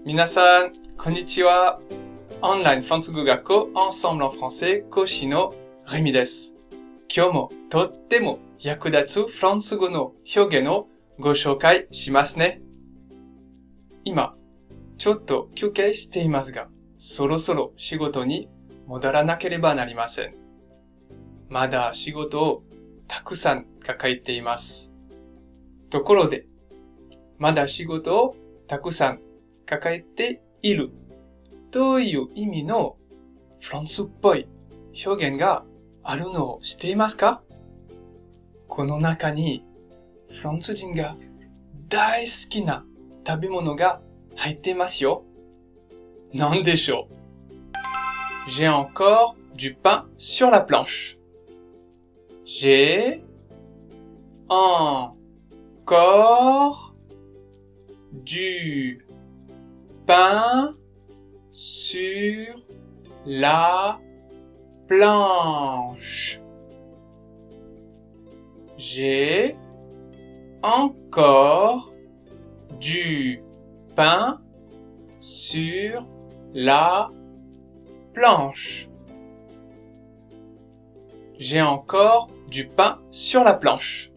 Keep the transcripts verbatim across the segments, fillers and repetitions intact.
皆さん、こんにちは。オンラインフランス語学校 Ensemble en français 講師のレミです。今日もとっても役立つフランス語の表現をご紹介しますね。今、ちょっと休憩していますが、そろそろ仕事に戻らなければなりません。まだ仕事をたくさん抱えています。ところで、まだ仕事をたくさん抱えているという意味のフランスっぽい表現があるのを知っていますか？この中にフランス人が大好きな食べ物が入っていますよ。何でしょう？ J'ai encore du pain sur la planche. J'ai encore du pain sur la planche. J'ai encore du pain sur la planche. J'ai encore du pain sur la planche.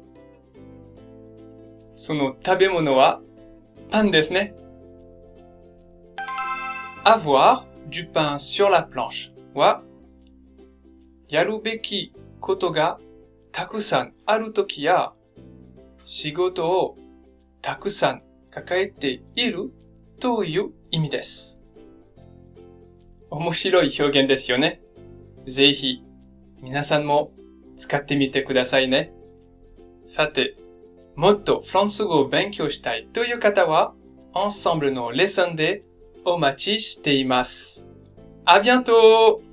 その食べ物はパンですね。avoir du pain sur la planche は、やるべきことがたくさんあるときや、仕事をたくさん抱えているという意味です。面白い表現ですよね。ぜひ皆さんも使ってみてくださいね。さて、もっとフランス語を勉強したいという方は、Ensembleのレッスンでお待ちしています。À bientôt!